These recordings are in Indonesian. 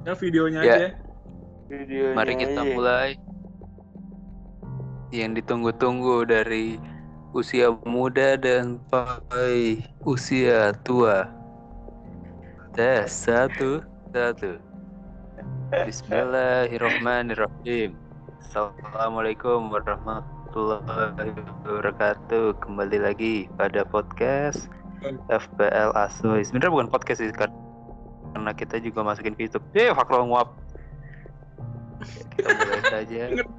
Ya videonya Ya. aja. Videonya Mari kita aja. mulai. Yang ditunggu-tunggu dari usia muda dan sampai usia tua. Tes satu. Bismillahirrahmanirrahim. Assalamualaikum warahmatullahi wabarakatuh. Kembali lagi pada podcast FPL Asoy. Sebenarnya bukan podcast sih, karena kita juga masukin ke YouTube. Fakro nguap. Kita mulai saja.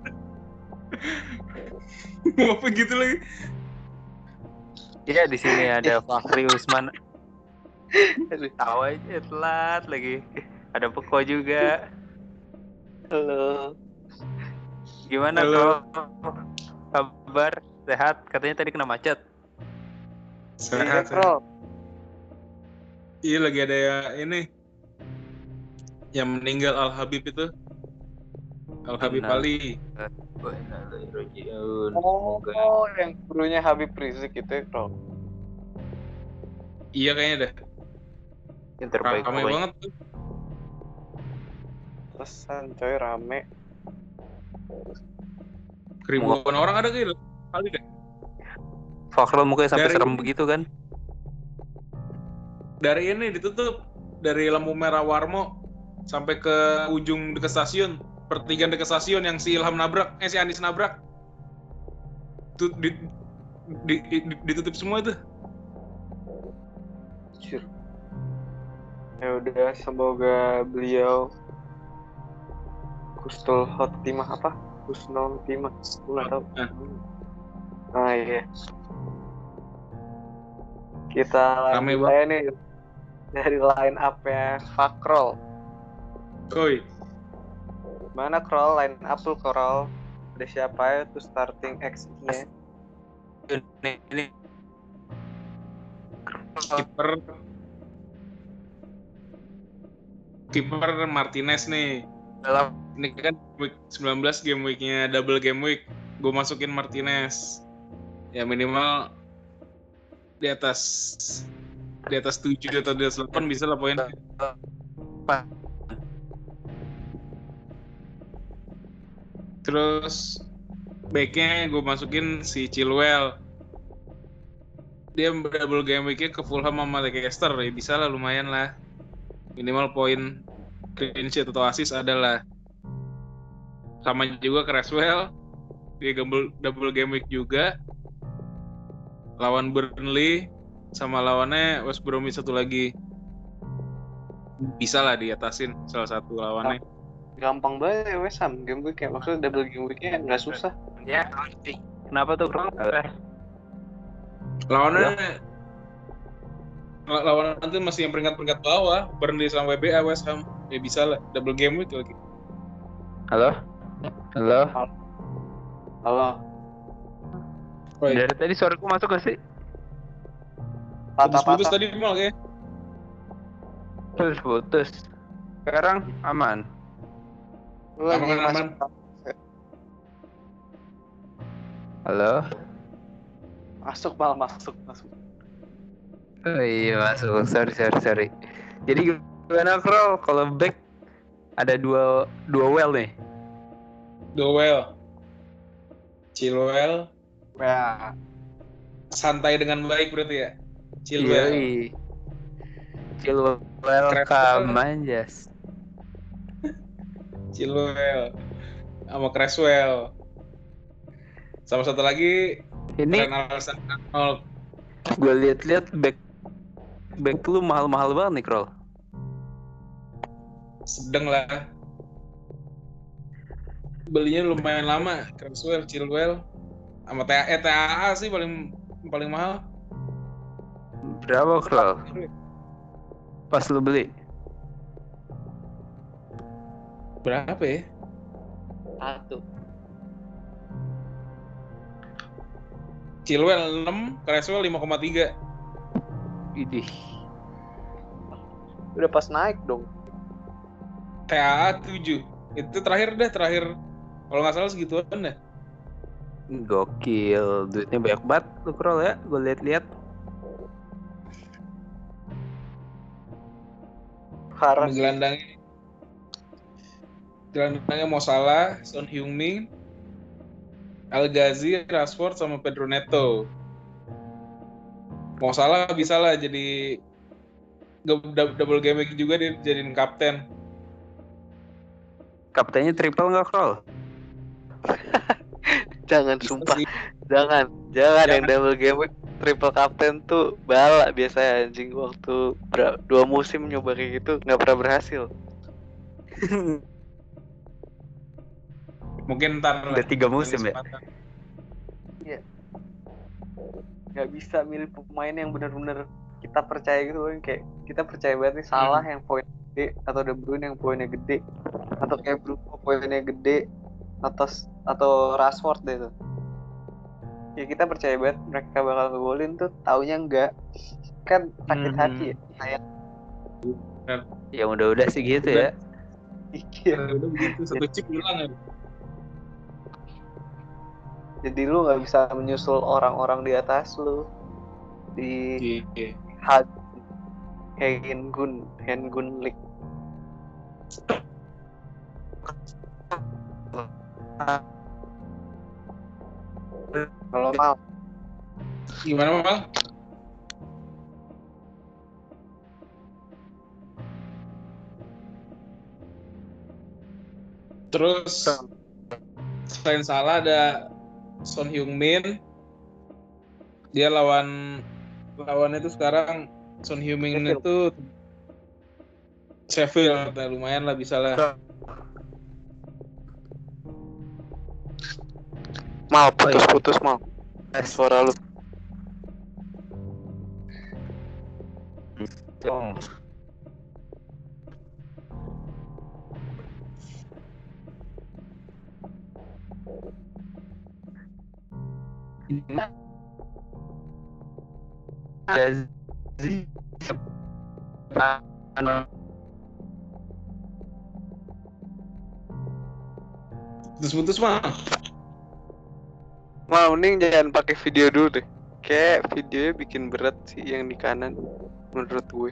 Apa gitu lagi? Ya, di sini ada Fakri Usman. Tahu aja telat lagi. Ada Peko juga. Halo. Gimana, Halo. Bro? Kabar? Sehat? Katanya tadi kena macet. Sehat. Bro. Iya lagi ada ya ini yang meninggal Al Habib itu. Al Habib Ali. Semoga. Oh, yang gurunya Habib Rizik itu ya, Bro. Iya kayaknya dah. Yang terbaik Ramai pokoknya. banget tuh. Pesan coy rame. Ribuan orang ada kali deh. Fakro mukanya sampai Dari serem ini. begitu kan? Dari ini ditutup dari lampu merah Warmo sampai ke ujung dekat stasiun, pertigaan dekat stasiun yang si Ilham nabrak, si Anis nabrak. Ditutup semua itu. Jujur. Ya udah, semoga beliau Husnul Khotimah apa? Husnul Khotimah. Gue nggak tahu. Ah iya. Kita Rame lanjut aja nih dari line up-nya Fakrol. Oi. Mana Krol? Line up tuh Krol. Ada siapa ya tuh starting X-nya? Ini Kiper Martinez nih. dalam Ini kan week 19 game weeknya double game week. Gue masukin Martinez. Ya minimal di atas 7 atau di atas 8 bisa lah poinnya. Terus backnya gue masukin si Chilwell. Dia double game weeknya ke Fulham sama Leicester, ya bisa lah, lumayan lah. Minimal poin clean sheet atau assist adalah. Sama juga Cresswell, dia double game week juga. Lawan Burnley sama lawannya West Bromwich satu lagi. Bisa lah diatasin salah satu lawannya. Gampang banget ya West Ham game week ya. Maksudnya double game weeknya nggak susah. ya. Kenapa tuh, Bro? Lawannya lawan nanti masih yang peringkat bawah, Burnley sama WBA West Ham. Ya bisa lah, double game week lagi. Halo? Oi. Dari tadi suaraku masuk gak sih? Putus-putus tadi mal kayak. Putus. Sekarang aman. Aman. Halo? Masuk. Oh iya masuk. Sorry. Jadi gimana, Bro? Kalau back ada dua well nih. Dowell, Chilwell, Ya. santai dengan baik berarti ya. Chilwell, Welcome Manjas. Chilwell, sama Cresswell. Sama satu lagi Ini Alexander-Arnold. gue lihat back lu mahal-mahal banget nih, Krol. Sedang lah. Belinya lumayan lama, Cresswell, Chilwell, sama TAA sih paling mahal. Berapa, Krol? Pas lu beli? Berapa ya? 1. Chilwell 6, Cresswell 5,3. Idih. Udah pas naik dong. TAA 7. Itu terakhir kalau nggak salah segituan dah. Gokil, duitnya banyak banget lu, Krol ya. Gue lihat-lihat. Parah. Gelandangnya Gelandangnya Mo Salah, Son Heung-min, El Ghazi, Rashford sama Pedro Neto. Mo Salah bisa lah jadi double game week juga dia jadiin kapten. Kaptennya triple nggak, Krol? Jangan Bisa sumpah. sih. Jangan yang double game week triple captain tuh bala biasanya anjing waktu 2 musim nyoba kayak gitu nggak pernah berhasil. Mungkin ntar lah. Udah 3 musim ya? Iya. Nggak bisa milih pemain yang benar-benar kita percaya gitu kan, kayak kita percaya banget nih Salah yang poin gede atau De Bruyne yang poinnya gede atau kayak Bruno poinnya gede atau Rashford deh tuh. Ya kita percaya banget mereka bakal ngegolin tuh, taunya enggak. Kan sakit hati ya kayak. Ya udah sih gitu ya. Udah begitu satu chip hilang ya. Jadi lu nggak bisa menyusul orang-orang di atas lu di Hengun League. Kalau mal Gimana Mal? Terus selain Salah ada Son Heung-min. Dia lawannya itu sekarang Son Heung-min itu Sheffield. Nah, lumayan lah bisa lah. Mal putus mal. Suara lu. Putus Mal. Mal mending jangan pakai video dulu deh. Kayak videonya bikin berat sih yang di kanan menurut gue.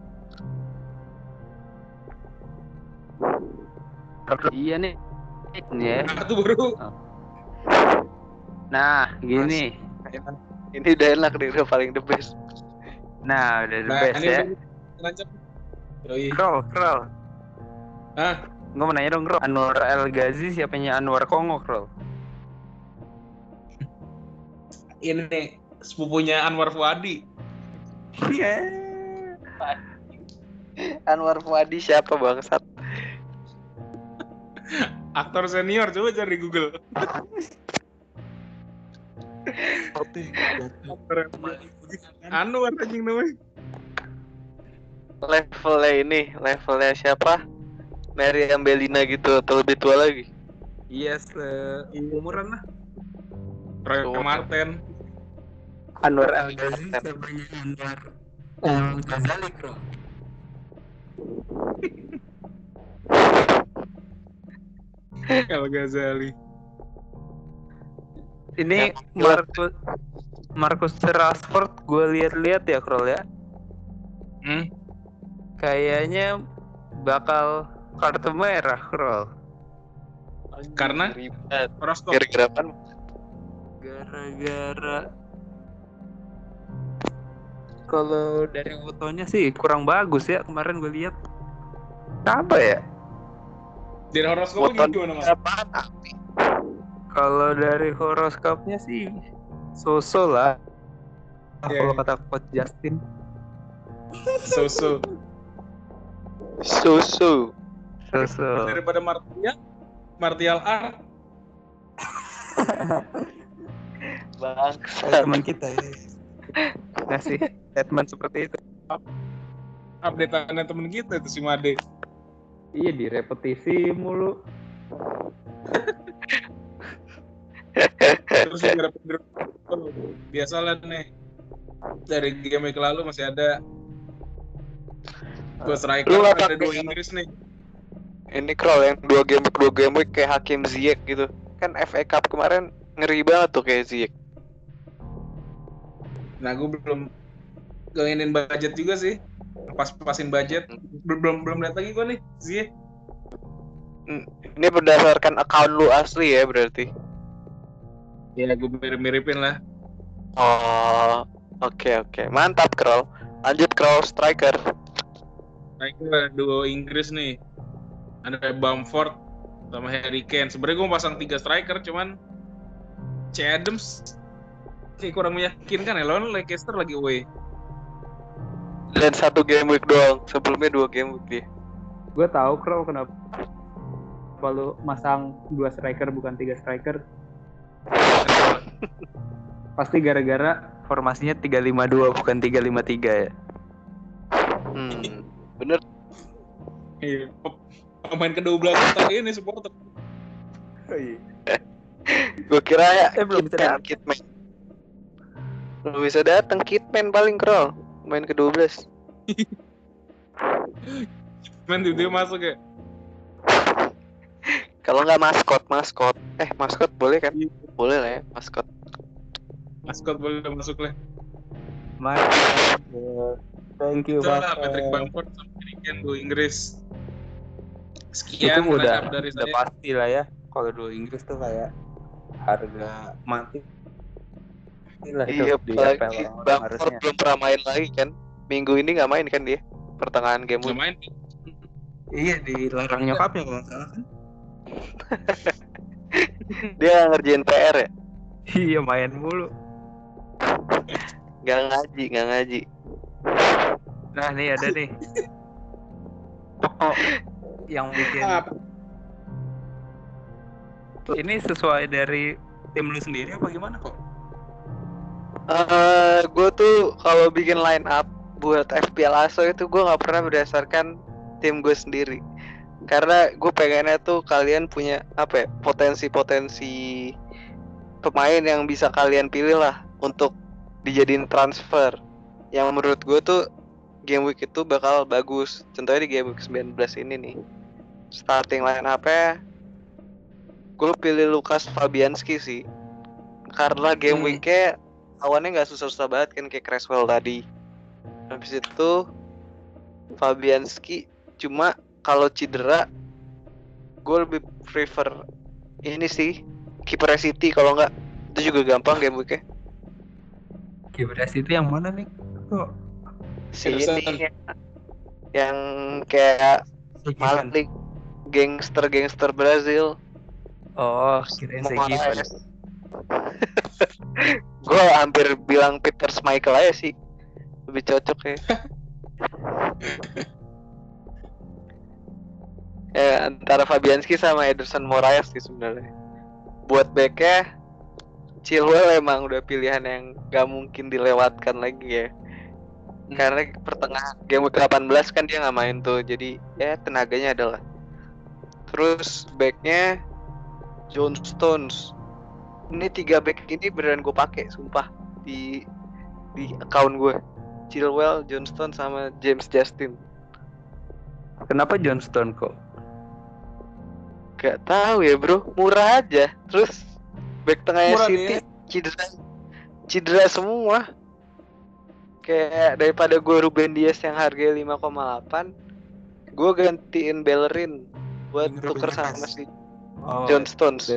Iya nih. Ya. Itu baru. Nah, gini. Ini udah enak nih, udah paling the best. Nah, udah the best ya. Krol. Hah? Gue mau nanya dong, Krol. Anwar El Ghazi siapanya Anwar Kongo, Krol? Ini sepupunya Anwar Fuadi. Anwar Fuadi siapa bangsat? Aktor senior, coba cari di Google. Anwar anjing namanya. Levelnya siapa? Meriam Bellina gitu atau lebih tua lagi? Iya, umuran lah. Roy Martin. Anwar El Ghazi siapanya Anwar El Ghazali, Krol? El Ghazali. Ini Marcus Rashford gue lihat-lihat ya, Krol ya. Kayaknya bakal kartu merah, Krol. Karena Rostov. Gara-gara apa? Gara-gara kalau dari fotonya sih kurang bagus ya, kemarin gue lihat. Apa ya? Dari horoskopnya gimana, Mas? Kalau dari horoskopnya sih so-so lah. Kalau kata Coach Justin. So-so. Daripada Martial Art. Bangsa. teman kita ya. Ngasih statement seperti itu. Update-annya temen kita itu si Made. Iya, direpetisi mulu. Terus gara Pedro biasalah nih. Dari game week lalu masih ada buat striker ada 2 Inggris nih. Ini Krol yang 2 game week kayak Hakim Ziyech gitu. Kan FA Cup kemarin ngeri banget tuh kayak Ziyech. Nah, gue belum ganginin budget juga sih. Pas-pasin budget. Belum lihat lagi gue nih Ziyech. Ini berdasarkan account lu asli ya berarti? Ya gue mirip-miripin lah. Oh, oke. Mantap, Kroll. Lanjut, Kroll, striker. Nah itu lah duo Inggris nih. Ada Bamford sama Harry Kane. Sebenarnya gue pasang 3 striker, cuman C. Adams kayak kurang meyakinkan ya. Lawan Leicester lagi away. Dan 1 game week doang. Sebelumnya 2 game week dia. Gue tahu Crow kenapa lu masang 2 striker bukan 3 striker. Pasti gara-gara formasinya 3-5-2 bukan 3-5-3 ya. Bener. Iya, pemain ke-12 kita ini supporter. Gue kira ya belum bisa datang. Kitman. Belum bisa datang Kitman paling Kroll. Main ke-12. Main tiba-tiba masuk ya. Kalau nggak maskot. Maskot boleh kan? Boleh lah ya, maskot. Maskot boleh masuk lah. Thank you, Itulah Patrick Bamford sama Harry Kane duo Inggris. Sekian itu udah dari saya. Pasti lah ya. Kalau duo Inggris tuh kayak harga mati. Iya, apalagi Bamford belum pernah main lagi kan. Minggu ini nggak main kan dia. Pertengahan game nggak main. Iya, dilarang nyokapnya kalau nggak salah kan. Dia ngerjain PR ya? Iya, main mulu. Nggak ngaji. Nah, nih ada nih. Yang bikin ini sesuai dari tim lu sendiri apa gimana kok? Gue tuh kalau bikin line up buat FPL ASO itu gue nggak pernah berdasarkan tim gue sendiri. Karena gue pengennya tuh kalian punya potensi pemain yang bisa kalian pilih lah untuk dijadiin transfer. Yang menurut gue tuh game week itu bakal bagus. Contohnya di game week 19 ini nih. Starting line up-nya gue pilih Lukas Fabianski sih. Karena game week-nya lawannya nggak susah-susah banget kan kayak Creswell tadi. Habis itu Fabianski cuma kalau cedera gue lebih prefer ini sih kiper City kalau nggak itu juga gampang game week-nya. Kiper City yang mana nih? Kok Si ini yang kayak maling gangster Brazil. Oh, kirain Sekiper. Gue hampir bilang Peter Schmeichel aja sih, lebih cocok ya. Antara Fabianski sama Ederson Moraes sih sebenarnya. Buat backnya Chilwell emang udah pilihan yang gak mungkin dilewatkan lagi ya. Karena pertengahan game 18 kan dia nggak main tuh, jadi ya tenaganya adalah. Terus backnya John Stones. Ini 3 back ini beneran gue pakai, sumpah di account gue. Chilwell, John Stones sama James Justin. Kenapa John Stones kok? Gak tahu ya bro, murah aja. Terus back tengahnya Murah City cedera semua. Kayak daripada gue Ruben Dias yang harganya 5,8, gue gantiin Bellerin buat tuker sama si John Stones.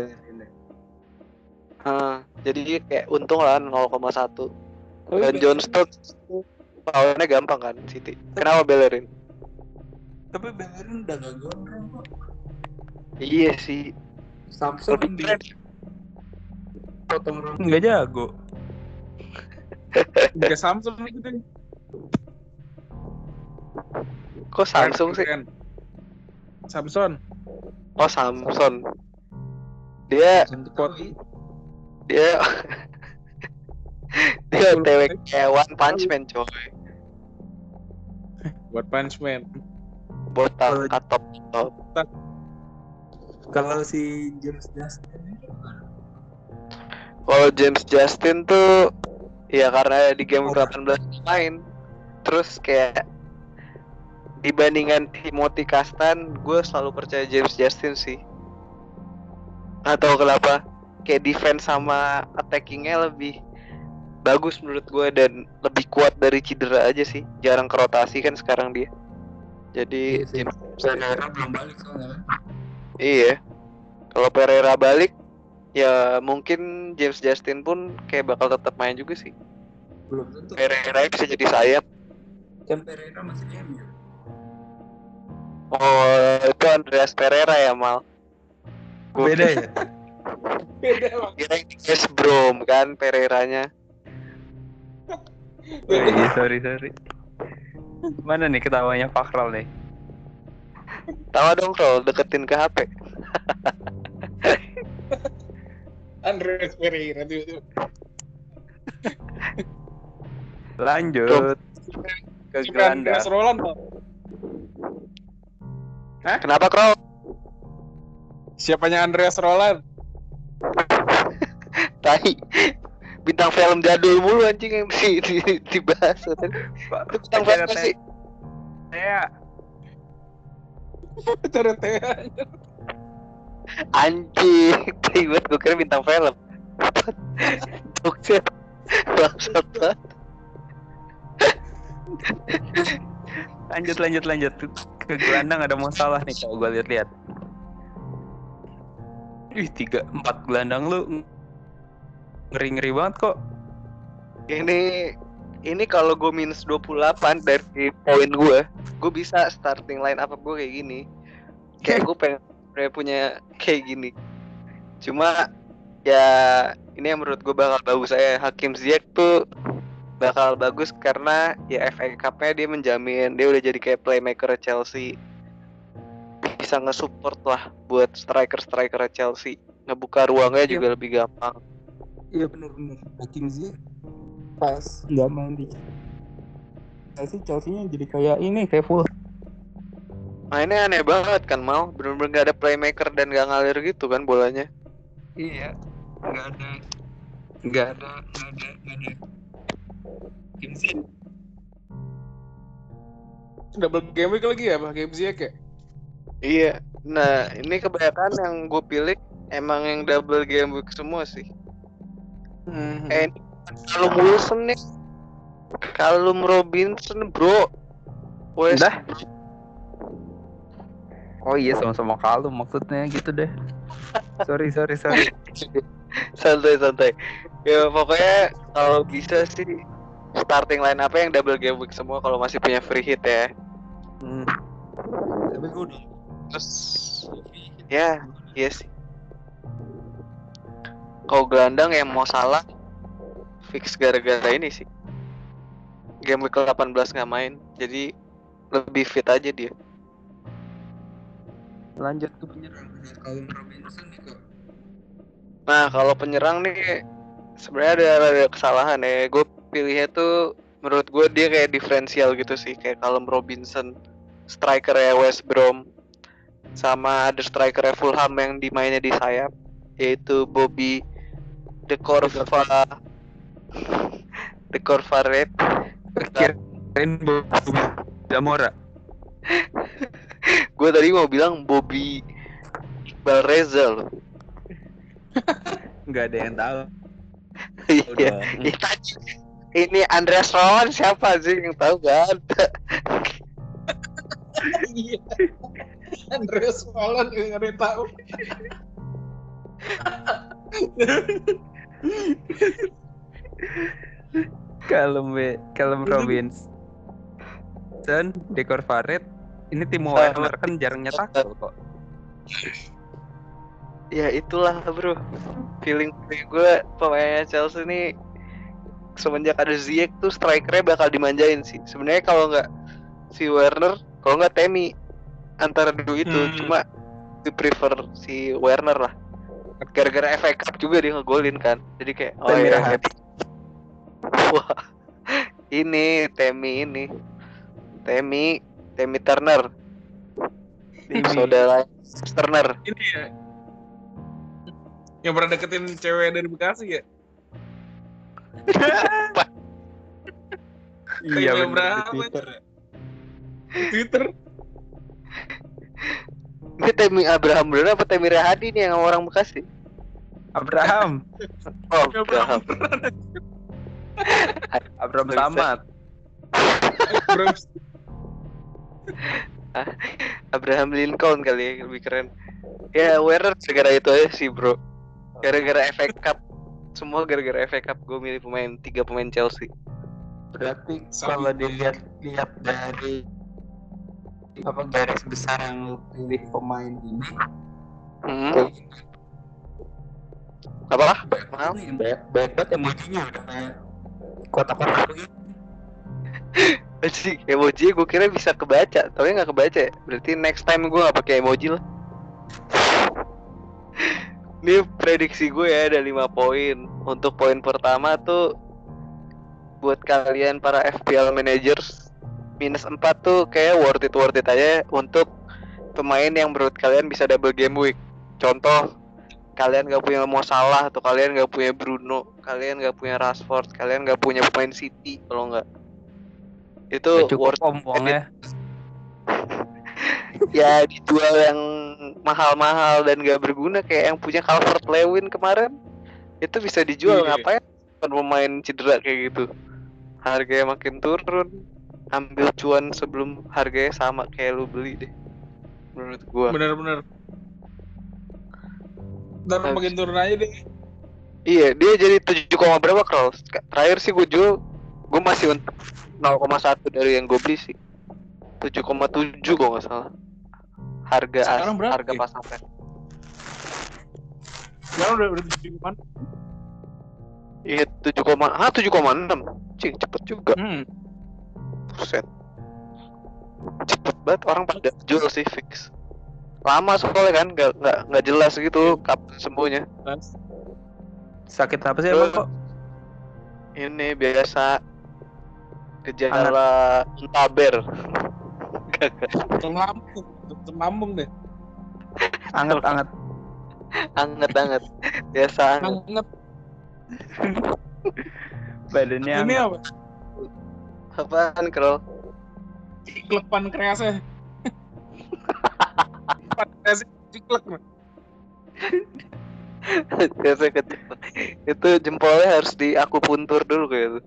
Jadi kayak untung lah 0,1. Dan John Stones lawannya gampang kan City. Kenapa Bellerin? Tapi Bellerin udah gak gondrong kok. Iya sih. Samsung lebih keren. potong rambut nggak jago. Juga Samsung gitu. Kok Samsung sih? Samsung. Oh Samsung. Dia dia TW kayak One Punch Man coy. Buat Punch Man. Botak atop. Kalau si James Justin Kalau James Justin tuh ya karena di game 18 main. Terus kayak dibandingkan Timothy Castan, gue selalu percaya James Justin sih. Atau kenapa? Kayak defense sama attackingnya lebih bagus menurut gue dan lebih kuat dari cedera aja sih. Jarang kerotasi kan sekarang dia. Jadi James Justin belum balik soalnya. Iya. Kalau Pereira balik, ya mungkin James Justin pun kayak bakal tetap main juga sih. Belum tentu. Pereira bisa jadi sayap. Kan Pereira masih MU. Oh, itu Andreas Pereira ya, Mal. Beda ya? Beda bang. Kira West Brom kan Pereiranya. Oh iya, sorry. Mana nih ketawanya Fakral nih? Tahu dong kalau deketin ke HP. Andreas Pereira tiba-tiba. Lanjut ke Siapa gelandang. Andreas Roland bang? Kenapa, Krow? Siapanya Andreas Roland? Tai. Bintang film jadul mulu anjing yang dibahas. Itu bintang film apa sih? Saya Teretea. Anjing. Tai banget, gue kira bintang film. Dokter. Bangsat banget. lanjut ke gelandang ada masalah nih kalau gue lihat-lihat. 3-4 gelandang lu ngeri banget kok. Ini kalau gue minus 28 dari poin gue bisa starting line up gue kayak gini. Kayak gue pengen punya kayak gini. Cuma ya ini yang menurut gue bakal bagus saya. Hakim Ziyech tuh bakal bagus karena ya FA Cup-nya dia menjamin dia udah jadi kayak playmaker Chelsea. Bisa nge-support lah buat striker Chelsea. Ngebuka ruangnya juga lebih gampang. Iya benar. Hakim Ziyech pas nggak main di Chelsea-nya jadi kayak full. Mainnya aneh banget kan, Mal. Bener-bener gak ada playmaker dan gak ngalir gitu kan bolanya. Iya, nggak ada. Hakim Ziyech. Double game week lagi ya Pak Game Ziyech ya? Iya. Nah, ini kebanyakan yang gue pilih emang yang double game week semua sih. Callum Wilson nih, Callum Robinson bro. Udah. Oh iya sama-sama Callum maksudnya gitu deh. Sorry. Santai. Ya pokoknya kalau bisa sih starting line apa yang double game week semua kalau masih punya free hit ya. Tapi gue udah. Terus ya, iya sih. Kalau gelandang yang mau salah fix gara-gara ini sih. Game week 18 nggak main, jadi lebih fit aja dia. Lanjut ke penyerang Callum Robinson nih kok. Nah kalau penyerang nih sebenarnya ada kesalahan ya. Gue pilihnya tuh menurut gue dia kayak diferensial gitu sih, kayak Callum Robinson, striker ya West Brom, sama ada striker Fulham yang dimainnya di sayap, yaitu Bobby De Corvaret. Kirain Bobby Zamora. Gue tadi mau bilang Bobby Iqbal Reza loh. Nggak ada yang tahu. Iya. Ini Andreas Rowan siapa sih yang tahu gak ada. Iya. Andreas Roland yang ada tahu. Callum Robinson, De Corvaret. Ini Timo Werner kan jarang nyetak kok. Ya itulah bro, feeling gue pemainnya Chelsea nih semenjak ada Ziyech tuh strikernya bakal dimanjain sih. Sebenarnya kalau nggak si Werner, kalau nggak Temi, antara dua itu. Cuma gue prefer si Werner lah. Gara-gara FA Cup juga dia ngegolin kan, jadi kayak wah ini Temi Turner, saudara Turner. Ini ya yang pernah deketin cewek dari Bekasi ya? Iya bener, berapa di Twitter. Twitter. Ini Temi Abraham bener apa Temi Rahadi nih yang orang Bekasi? Abraham. Oh, Abraham Samad. Abraham Lincoln kali ya, lebih keren. Ya Werner gara-gara itu aja sih bro. Gara-gara FA Cup. Semua gara-gara FA Cup gue milih tiga pemain Chelsea. Berarti kalau dilihat dari apa garis besar yang lu pilih pemain ini, Apa? banyak banget emojinya udah kayak kotak-kotak gitu. Sih emoji gue kira bisa kebaca, tapi nggak kebaca ya. Berarti next time gue nggak pakai emoji lah. Ini prediksi gue ya ada 5 poin. Untuk poin pertama tuh buat kalian para FPL managers, -4 tuh kayak worth it aja untuk pemain yang menurut kalian bisa double game week. Contoh, kalian gak punya Mo Salah atau kalian gak punya Bruno, kalian gak punya Rashford, kalian gak punya pemain City, kalau nggak itu worth ompongnya. Ya dijual yang mahal-mahal dan gak berguna kayak yang punya Calvert-Lewin kemarin, itu bisa dijual. Ngapain pemain cedera kayak gitu, harganya makin turun, ambil cuan sebelum harganya sama kayak lu beli deh menurut gua. Bener-bener. Ntar makin turun aja deh. Iya, dia jadi 7, berapa Kroll? Terakhir sih gue jual, gue masih untuk 0,1 dari yang gue beli sih. 7,7 kalau nggak salah. Harga pasarnya. Sekarang udah 7,6. Iya 7,6. Cing, cepet juga. Buset. Cepet banget orang pada jual sih fix. Lama soalnya kan, nggak jelas gitu kapan sembuhnya. Sakit apa sih emang kok? Ini biasa gejala muntaber. Lambung deh. Anget. Biasa Anget. Badannya Ini anget. apa? Apaan Kroll? Ciklek pankreasnya. Pankreasnya ciklek. Biasa kecil. Itu jempolnya harus diakupuntur dulu kayak itu.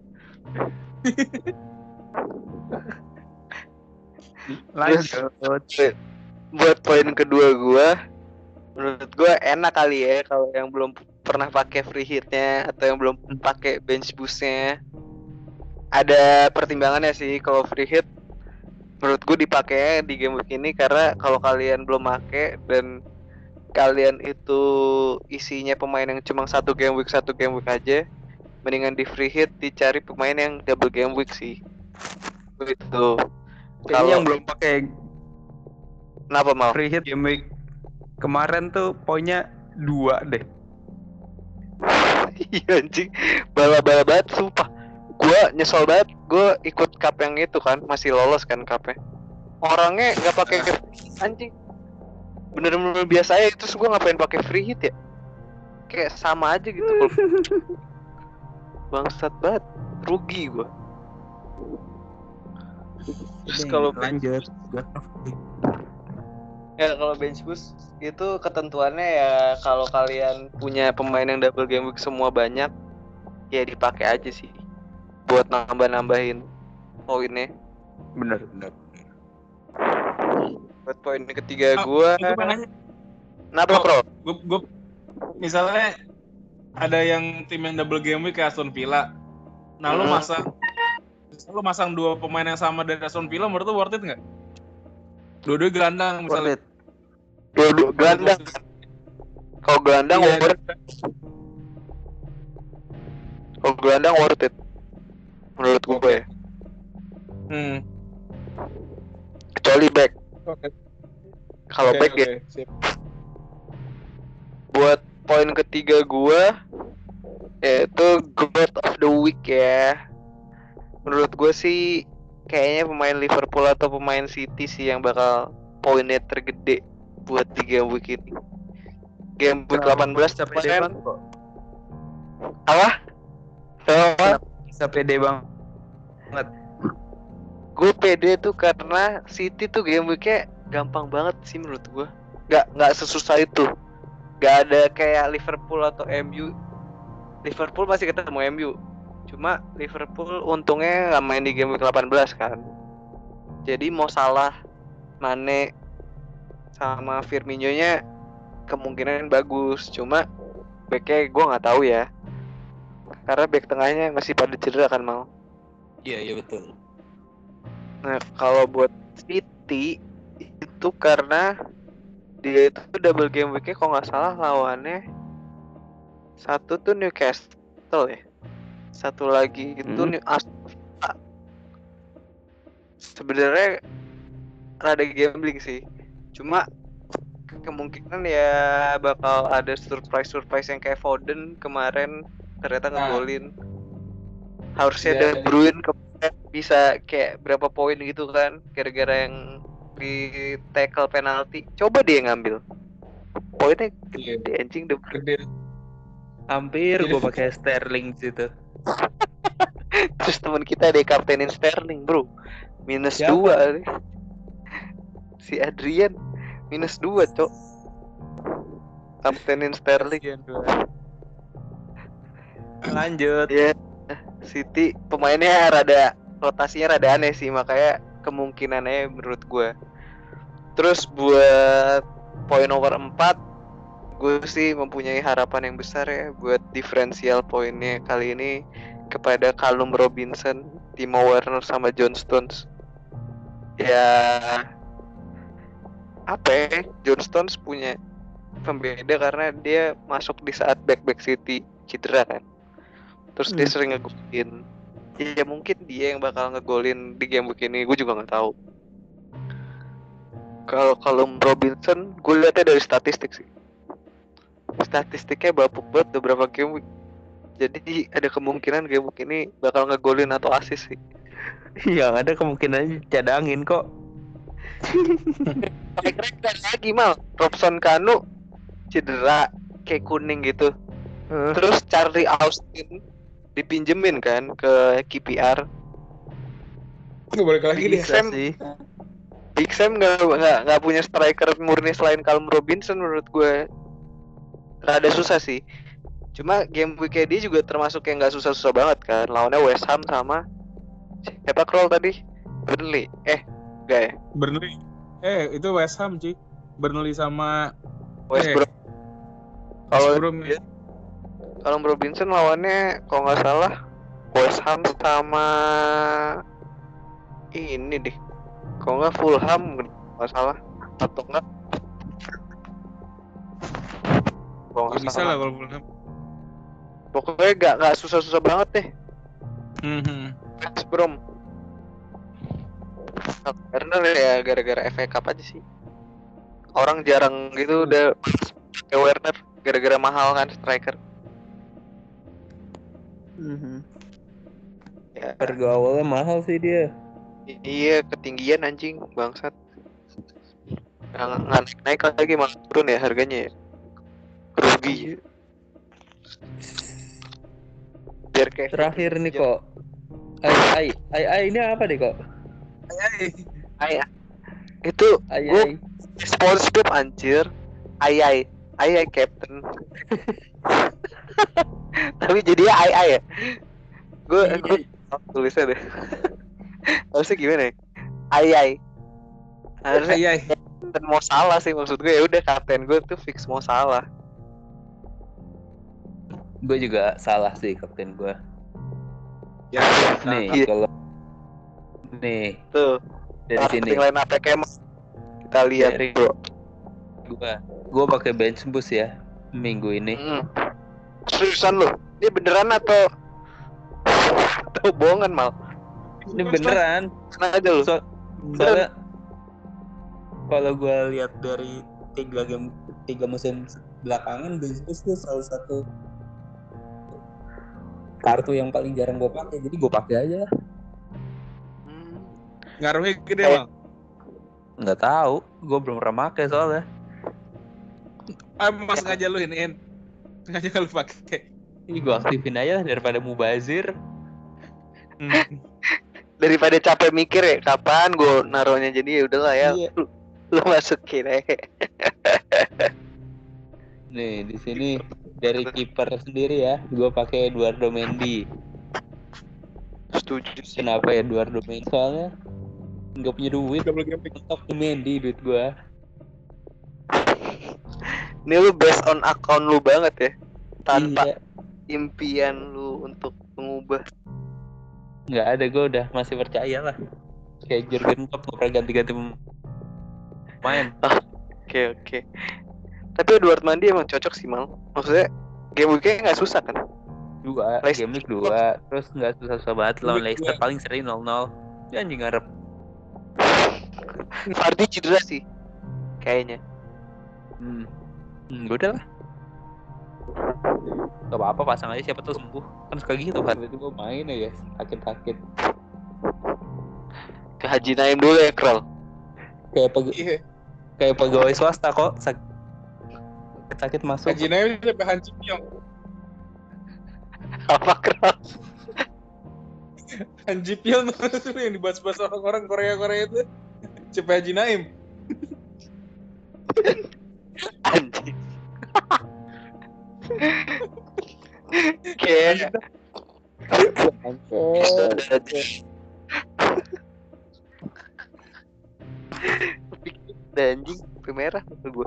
Lanjut. Buat poin kedua gua, menurut gua enak kali ya kalau yang belum pernah pakai free hitnya atau yang belum pakai bench boostnya. Ada pertimbangannya sih kalau free hit. Menurut gua dipakai di game week ini karena kalau kalian belum pakai dan kalian itu isinya pemain yang cuma satu game week aja, mendingan di free hit dicari pemain yang double game week sih. Begitu. Kayaknya yang belum pakai Kenapa mau? free hit game week kemarin tuh poinnya 2 deh. Iya anjing, bala-bala banget sumpah. Gua nyesel banget, gua ikut cup yang itu kan, masih lolos kan cupnya. Orangnya nggak pakai anjing. Bener-bener biasa aja, terus gua ngapain pakai free hit ya? Kayak sama aja gitu. Bangsat banget, rugi gua. Terus kalau lanjut. kalau bench boost itu ketentuannya ya kalau kalian punya pemain yang double game week semua banyak, ya dipakai aja sih buat nambahin poinnya. Bener. Buat poin ketiga gua. Kenapa Bro? Gue misalnya ada yang tim yang double game week kayak Aston Villa. Nah lu masang 2 pemain yang sama dari Aston Villa, menurut lu worth it nggak? Dua-dua gelandang misalnya. Dua gelandang. Kalau gelandang Iya, worth it. Kalau gelandang worth it. Menurut gue ya. Kecuali back. Oke. Kalau back ya. Sip. Buat poin ketiga gue yaitu God of the Week ya. Menurut gue sih kayaknya pemain Liverpool atau pemain City sih yang bakal poinnya tergede buat di game week ini. Game week 18 kemarin. Apa? Bisa pede banget. Gue pede tuh karena City tuh game weeknya gampang banget sih menurut gue. Nggak sesusah itu. Nggak ada kayak Liverpool atau MU. Liverpool masih ketemu MU. Cuma Liverpool untungnya nggak main di game week 18 kan. Jadi mau salah Mane sama Firmino-nya kemungkinan bagus, cuma backnya gue nggak tahu ya, karena back tengahnya masih pada cedera kan mau. Iya betul. Nah kalau buat City itu karena dia itu double game weeknya kalau nggak salah lawannya satu tuh Newcastle ya, satu lagi itu Aston Villa. Sebenarnya rada gambling sih, cuma kemungkinan ya bakal ada surprise yang kayak Foden kemarin ternyata ngegolin. Harusnya Ya, De Bruyne kemarin bisa kayak berapa poin gitu kan, gara-gara yang di tackle penalti. Coba dia ngambil poinnya gede anjing De Bruyne. Gede. Hampir gue pakai Sterling situ. Terus teman kita ada kaptenin Sterling bro, minus Siapa? 2 si Adrian minus 2 cok, kaptenin Sterling. Lanjut. Ya City pemainnya rotasinya rada aneh sih, makanya kemungkinannya menurut gue. Terus buat poin nomor 4, gue sih mempunyai harapan yang besar ya buat diferensial poinnya kali ini kepada Callum Robinson, Timo Werner sama John Stones. Ya apa ya, John Stones punya pembeda karena dia masuk di saat back City cedera kan. Terus dia sering ngegolin. Ya mungkin dia yang bakal ngegolin di game begini, gue juga nggak tahu. Kalau Callum Robinson, gue lihatnya dari statistik sih. Statistiknya bapuk banget beberapa game week. Jadi ada kemungkinan game week ini bakal ngegolin atau assist sih. Yang ada kemungkinan cadangin kok. Kira-kira lagi mal Robson Kanu cedera kayak kuning gitu. Terus Charlie Austin dipinjemin kan ke KPR. Nggak balik lagi Big deh. Sam Big Sam nggak punya striker murni selain Callum Robinson menurut gue. Rada susah sih. Cuma game week dia juga termasuk yang nggak susah-susah banget kan. Lawannya West Ham sama siapa Kroll tadi? Burnley. Enggak ya? Burnley. Itu West Ham sih. Burnley sama West Brom. Kalau Brom ya. Callum Robinson lawannya kalau nggak salah West Ham sama ini deh. Kalau nggak Fulham nggak salah atau enggak? Ya, bisa lah kalau Fulham. Pokoknya nggak susah-susah banget deh. West Brom. Karena ya gara-gara FA Cup aja sih. Orang jarang gitu udah kayak Werner gara-gara mahal kan striker. Ya, Harga awalnya mahal sih dia. iya ketinggian anjing bangsat. Nggak naik lagi malah turun ya harganya ya. Rugi. Biar kayak Terakhir nih kok. Ai ini apa deh kok? Ai. Itu Ai. SpongeBob anjir. Ai Captain. Tapi jadinya ai ya. Gue tulisnya deh. Harusnya gimana ya? Ai. Harusnya Kapten mau salah sih maksud gue, ya udah kapten gue tuh fix mau salah. Gue juga salah sih kapten gue. Ya, Nih kalau nih Tuh dari sini lain apa kayak kita lihat dari bro. Gue pakai bench boost ya minggu ini. Seriusan lo? Ini beneran atau bohongan mal? Ini beneran. Sengaja lo. Soalnya kalau gue lihat dari 3 musim belakangan, bench boost tuh salah satu kartu yang paling jarang gue pakai, jadi gue pakai aja. Ngaruhnya gede bang? Nggak tahu, gue belum pernah pakai soalnya. Mas sengaja lu iniin, sengaja lu pakai. Ini gue aktifin aja daripada mubazir. Daripada capek mikir ya kapan gue naruhnya, jadi ya udahlah ya. Iya. Lu masukin aja. Nih di sini dari kiper sendiri ya, gue pakai Eduardo Mendy. Setuju sih. Kenapa Eduardo Mendy? Soalnya Nggak punya duit. Double game week. Stok Mendy duit gua. Ini lu based on account lu banget ya, tanpa Iya. impian lu untuk mengubah. Nggak ada, gua udah masih percaya lah. Kayak Jurgen Klopp nggak pernah ganti-ganti pemain. Oke. Tapi Edward Mendy emang cocok sih, Mal. Maksudnya game week-nya nggak susah kan? 2, Leicester. game week 2, terus nggak susah-susah banget lawan Game week Leicester, 2. paling seri 0-0. Ya anjing ngarep. Vardy cedera sih, kayaknya. Udah lah. Gak apa-apa, pasang aja, siapa tuh sembuh. Kan suka gitu kan, itu gue main ya guys, sakit-sakit. Ke Haji Naim dulu ya, Krol. Iya. Kayak pegawai swasta kok, sakit masuk. Haji Naim sampai Han Ji Pyong. Apa, Krol? Han Ji Pyong tuh yang dibahas-bahas orang-orang Korea itu. Sampai Haji Naim. Anjing. Kayak anjing merah gue.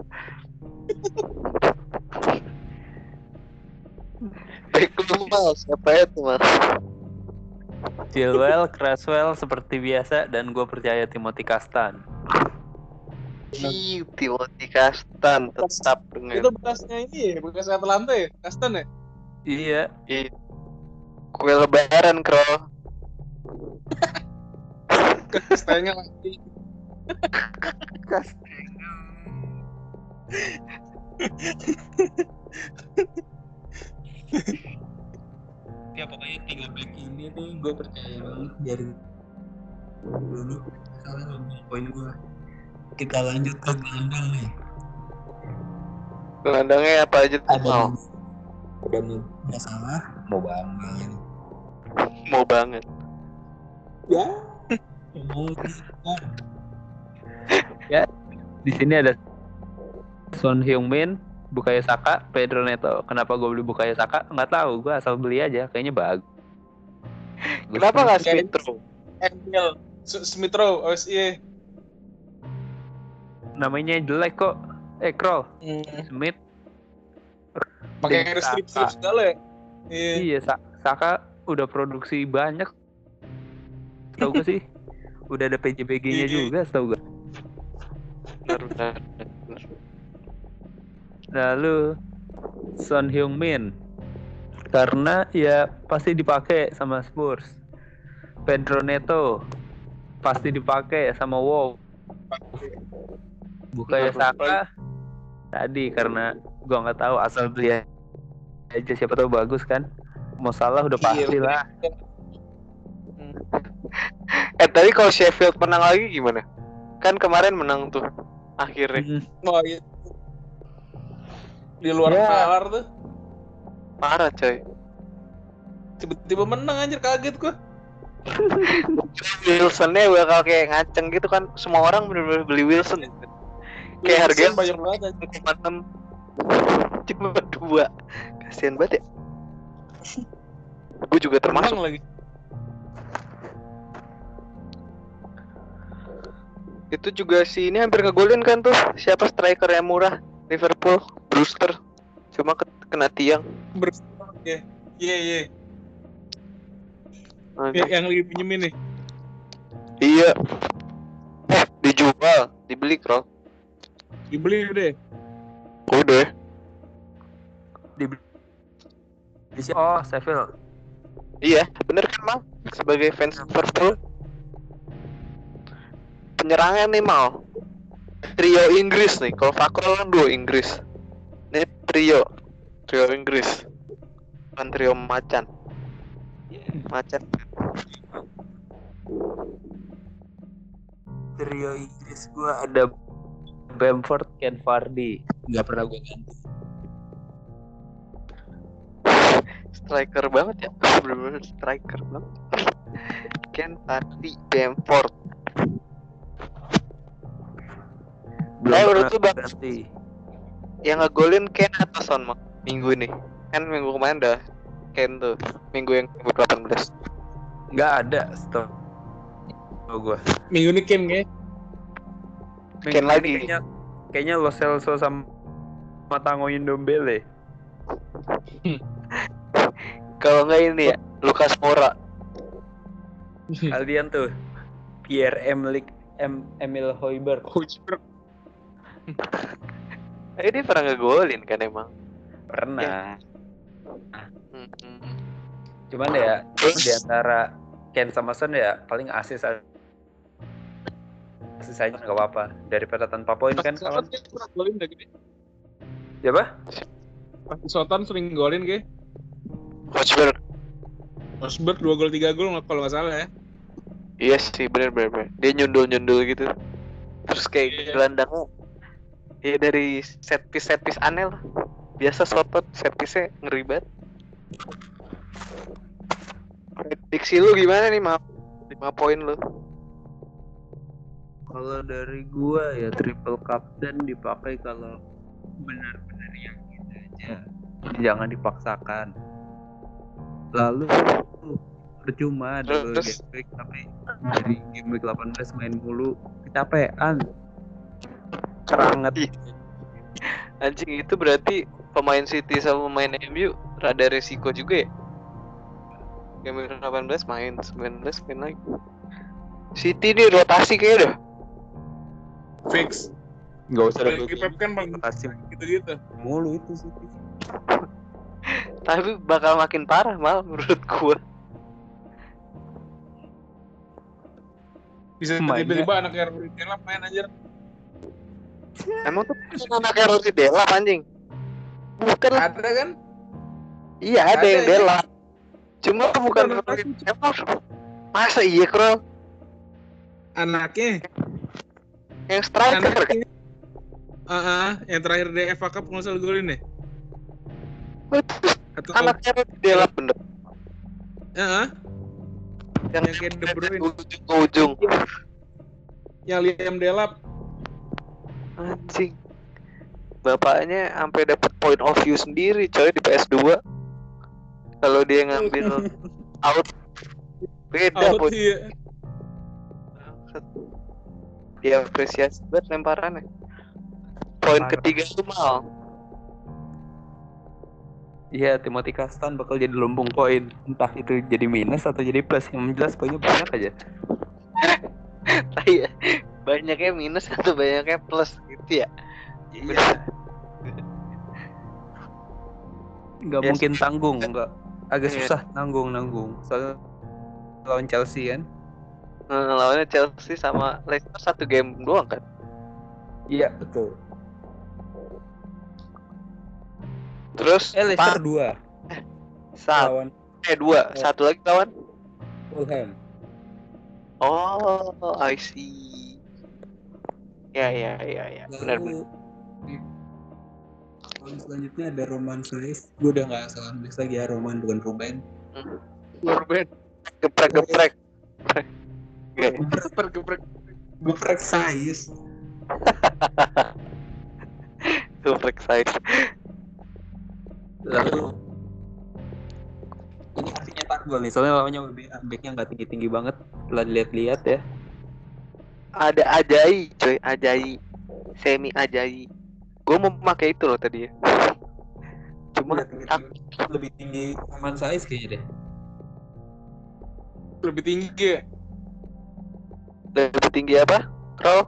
Baik lu Mal, siapa itu Mal? Chilwell, Cresswell seperti biasa, dan gue percaya Timothy Castan. Timothy Castan tetap dengan Itu bekasnya ini ya, bekas Atalanta ya? Kastan ya? Iya. kue lebaran, Krol. Kastanya lagi. Ya pokoknya 3 back ini tuh gue percaya banget dari dulu. Salah ngomong poin gue. Kita lanjut ke gelandang nih. Gelandangnya apa aja tuh, Mal? Dan nggak salah, mau banget. Mau banget. Ya. Ya, di sini ada Son Heung-min, Bukayo Saka, Pedro Neto. Kenapa gue beli Bukayo Saka? Nggak tahu, gue asal beli aja. Kayaknya bagus. Kenapa nggak Smith Rowe? ML Smith Rowe, OSI. Namanya jelek kok. Kroll, Smith. Pakai Saka. strip segala ya. Iya, Saka udah produksi banyak. Tahu gak sih? Udah ada PJBG-nya juga, tahu gak? Benar. Lalu Son Heung-min, karena ya pasti dipakai sama Spurs. Pedro Neto pasti dipakai sama Wow. Bukayo Saka tadi karena gua nggak tahu, asal beli aja, siapa tahu bagus kan. Mau salah udah pasti lah. Tadi kalau Sheffield menang lagi gimana? Kan kemarin menang tuh akhirnya. Oh iya. Di luar Ya. nalar tuh. Parah coy. Tiba-tiba menang anjir, kaget gua. Wilsonnya bakal kayak ngaceng gitu kan. Semua orang bener-bener beli Wilson. Kayak harganya banyak banget anjir. 1,6 cuma 2. Kasian banget ya. Gue juga termasuk. Menang lagi. Itu juga si ini hampir ngegolin kan tuh. Siapa striker yang murah? Liverpool, Brewster. Cuma kena tiang. Ya. Iya. Aduh. Yang lagi pinjemin nih. Iya. Dijual, dibeli Krol. Dibeli udah. Udah. Oh, Sheffield. Iya, bener kan Mal? Sebagai fans Liverpool. Penyerangan nih Mal. Trio Inggris nih. Kalau Fakrol kan duo Inggris. Ini trio Inggris. Bukan trio macan. Trio Inggris gue ada Bamford, Ken Vardy. Nggak pernah gue ganti. Striker banget ya. Bener-bener striker banget. Ken Vardy, Bamford. Menurut lu Bang, ganti. yang ngegolin Ken atau Son Mak? Minggu ini. Kan minggu kemarin dah Ken tuh. Minggu yang ke-18. Nggak ada. Stop. gua. Minggu ini Ken kayak. Ken lagi. Kayaknya Lo Celso sama Tango Ndombele. Kalau nggak ini ya, Lucas Moura. Kalian tuh Emil Højbjerg. Dia pernah ngegolin kan emang. Pernah. Hmm. Cuman ya di antara Ken sama Son ya paling asis aja nggak apa-apa daripada tanpa poin kan kawan. Pernah golin udah gede. Siapa? Pas di Soton sering golin kayak. Højbjerg. Rosberg 2 gol 3 gol kalau nggak salah ya. Iya sih, bener. Dia nyundul gitu. Terus kayak gelandangnya ya dari set piece aneh lah. Biasa Soton set piece-nya ngeri banget. Prediksi lu gimana nih, 5 poin lu? Kalau dari gua ya triple captain dipakai kalau benar-benar yang gitu aja. Jangan dipaksakan. Lalu percuma dulu Terus? game week tapi dari game week 18 main mulu kecapean. Keranget. Anjing, itu berarti pemain City sama pemain MU rada resiko juga ya? Game 18 main, 19 main lagi. City nih rotasi kayaknya dah. Fix. Enggak usah Lagi Pep kan bang gitu-gitu. mulu itu sih. Tapi bakal makin parah mal menurut gua. Bisa tiba-tiba anak Erwin Delap main anjir. Emang tuh anaknya Rossi Delap anjing? Bukan lah. Ada kan? Iya ada yang ya. Delap. Cuma bukan Rossi Delap. Masa iya Krol? Anaknya. Yang striker kan? Yang terakhir di FA Cup nggak salah golin deh. Atau Anaknya Rossi Delap bener. Yang kayak De Bruyne. Ujung ke ujung. Yang Liam Delap. Anjing. Bapaknya sampai dapat point of view sendiri coy di PS2. Kalau dia ngambil out beda Out point. iya. Dia apresiasi banget lemparannya. Poin ketiga itu mal. Iya, Timothy Castan bakal jadi lumbung poin. Entah itu jadi minus atau jadi plus. Yang jelas poinnya banyak aja. Iya. Banyaknya minus atau banyaknya plus gitu ya. Iya. Nggak Yes. mungkin tanggung, nggak. Agak Iya. susah nanggung. Soalnya lawan Chelsea kan. Lawannya Chelsea sama Leicester 1 game doang kan. Iya, betul. Terus Leicester 2 lawan 2, satu lagi lawan. Fulham. Oh, I see. Ya. Benar. Lawan selanjutnya ada Roman Reis. Gue udah nggak salah nulis lagi ya, Roman bukan Ruben. Ruben. Geprek. Geprek size. Geprek size. Lalu ini artinya tak gol nih, soalnya lawannya backnya nggak tinggi banget. Setelah dilihat-lihat ya, Ada Ajai, coy, Ajai. Semi Ajai. Gue mau pakai itu loh tadi ya. Cuma lebih tinggi Roman Reis kayaknya deh. Lebih tinggi ya. lebih tinggi apa? Roll.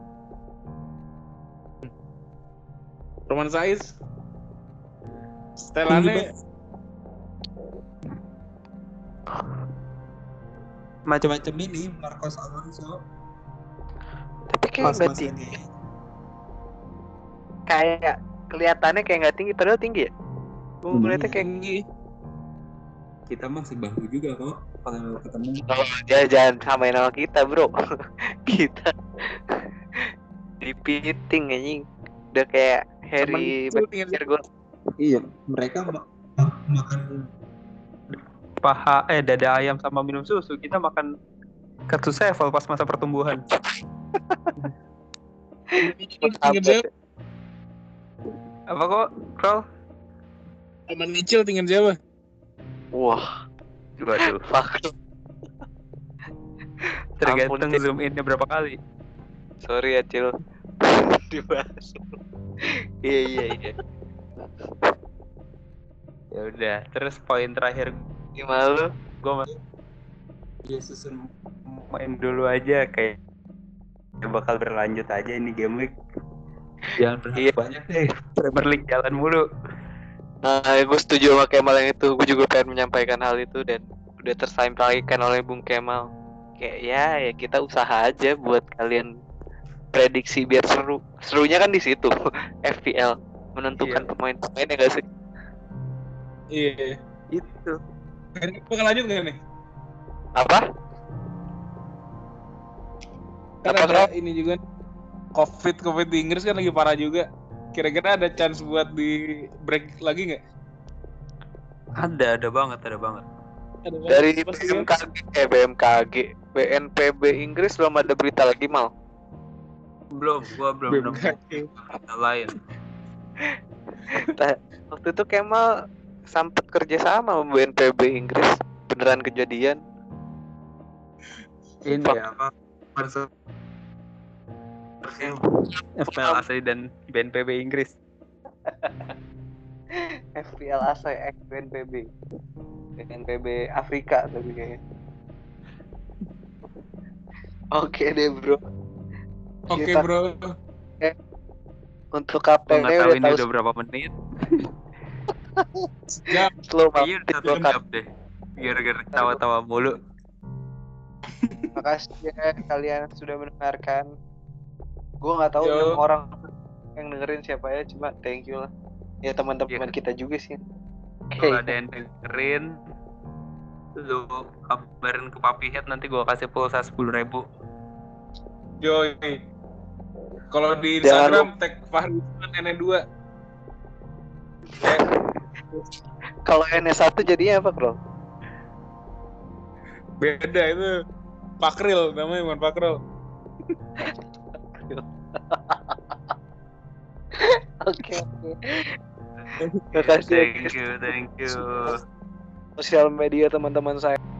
Roman Saiz. Setelannya Macam-macam ini Marcos Alonso. Tapi kayak nggak tinggi. Kayak kelihatannya kayak nggak tinggi, padahal tinggi ya. Gue ngeliatnya kayak tinggi. Kita masih bahu juga kok kalau ketemu. jangan samain sama kita bro. Kita dipiting anjing. Udah kayak Harry Maguire. Iya, mereka makan paha dada ayam sama minum susu. Kita makan kartu sevel pas masa pertumbuhan. Apa kok, Krol? Roman Mitchell tinggal siapa? Wah, Waduh. fuck. Tergantung Cil. zoom innya berapa kali. Sorry ya Cil. Dibahas. Iya. Ya udah, terus poin terakhir Gimana lu? gue ya susun main dulu aja kayak bakal berlanjut aja ini game week. Jangan berharap Iya. banyak deh. Premier League jalan mulu. Nah, gue setuju sama Kemal yang itu. Gue juga pengen menyampaikan hal itu dan udah tersampaikan oleh Bung Kemal. Kayak ya kita usaha aja buat kalian prediksi biar seru. Serunya kan di situ. FPL menentukan Iya. pemain-pemain ya gak sih? Iya. Itu. Ini bakal lanjut nggak nih? Apa? Kan Apa, ada Bro? ini juga COVID di Inggris kan lagi parah juga. Kira-kira ada chance buat di break lagi nggak? Ada banget. Ada Dari pasti kan? BMKG, BNPB Inggris belum ada berita lagi mal. Gua belum nemu berita lain. Waktu itu Kemal sempet kerja sama BNPB Inggris, beneran kejadian. Ini apa? FPL Asli dan BNPB Inggris. FPL ASA X BNPB Afrika tapi kayaknya. Oke deh bro. Oke Kita- bro. Untuk Gua KPN nggak tahu udah ini tahu udah berapa menit. Sejam. slow Kayaknya udah banget. 1 jam deh. Gara-gara tawa-tawa mulu. Makasih ya kalian sudah mendengarkan. Gue nggak tahu Yo. 6 orang yang dengerin siapa ya, cuma thank you lah. Ya teman-teman kita juga sih. Kalau ada yang dengerin, lu kabarin ke Papi Head, nanti gua kasih pulsa 10.000. Yoi. Kalau di Jangan Instagram tag Fahri Nenek 2. Kalau NS1 jadinya apa bro? Beda itu. Pakril namanya, bukan Pakril. Oke. Makasih. Thank you. Sosial media teman-teman saya.